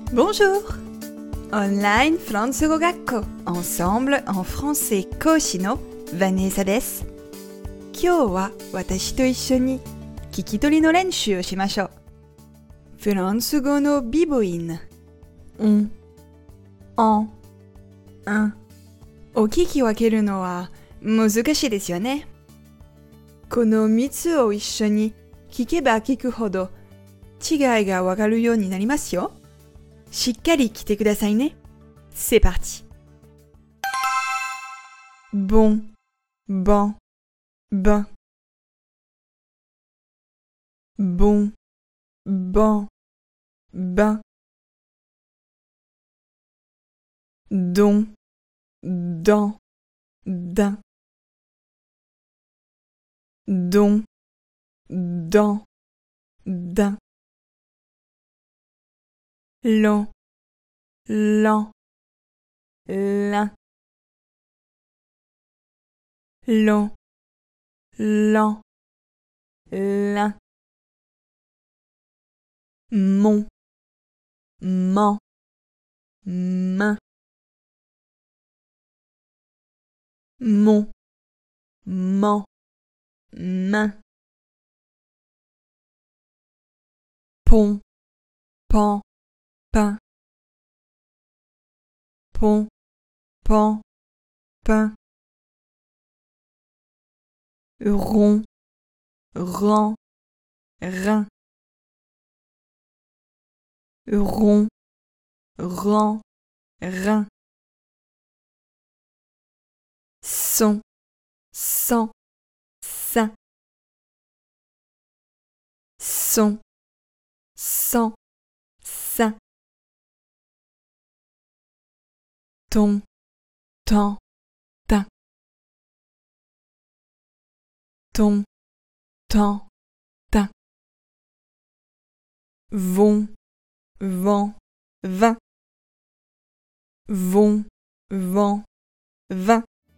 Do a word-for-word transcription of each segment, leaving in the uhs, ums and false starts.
Bonjour! Online フランス語学校 Ensemble en français 講師のヴァネーサです。今日は私と一緒に聞き取りの練習をしましょう。フランス語のビ母音、ん、ん、んを聞き分けるのは難しいですよね。このみっつを一緒に聞けば聞くほど違いがわかるようになりますよ。しっかり聞いてくださいね。C'est parti. Bon, ban, ben. Bon, ban, ben. Don, dan, din. Don, dan, din. L'an, l'an, l'un. L'an, l'an, l'un. Mon, man, main. Mon, man, main. Pont, pan, pain. Pont, pan, pain. Rond, rang, rein. Rond, rang, rein. Son, sang, sein. Son, sang, sein. Ton, temps, teint. Ton, temps, teint. Vont, vent, vin. Vont, vent, vin.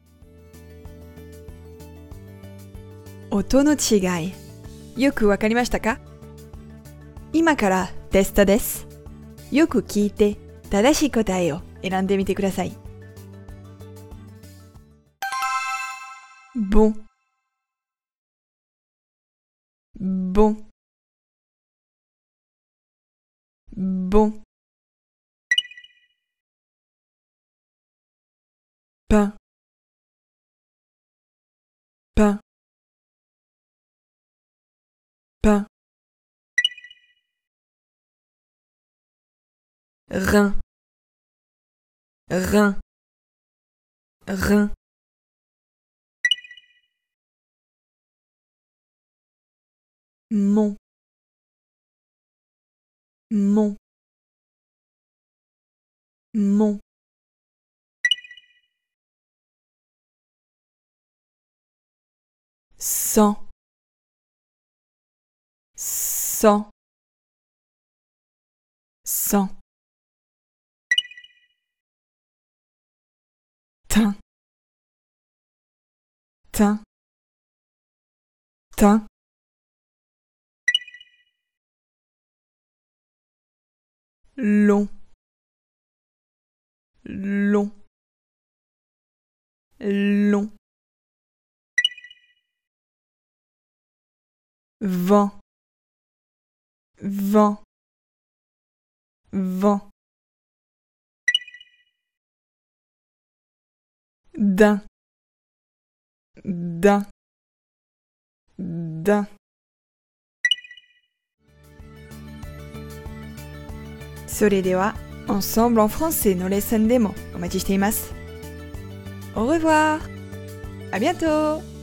音の違い、よくわかりましたか？今からテストです。よく聞いて正しい答えを選んでみてください。Bon, bon, bon. Pain, pain, pain. Rein, rein, rein. Mon, mon, mon. Sans, sans, sans. Teint, teint, teint. Long, long, long. Vent, vent, vent. D'un, d'un, d'un. それでは、Ensemble en français のレッスンでもお待ちしています。Au revoir! À bientôt!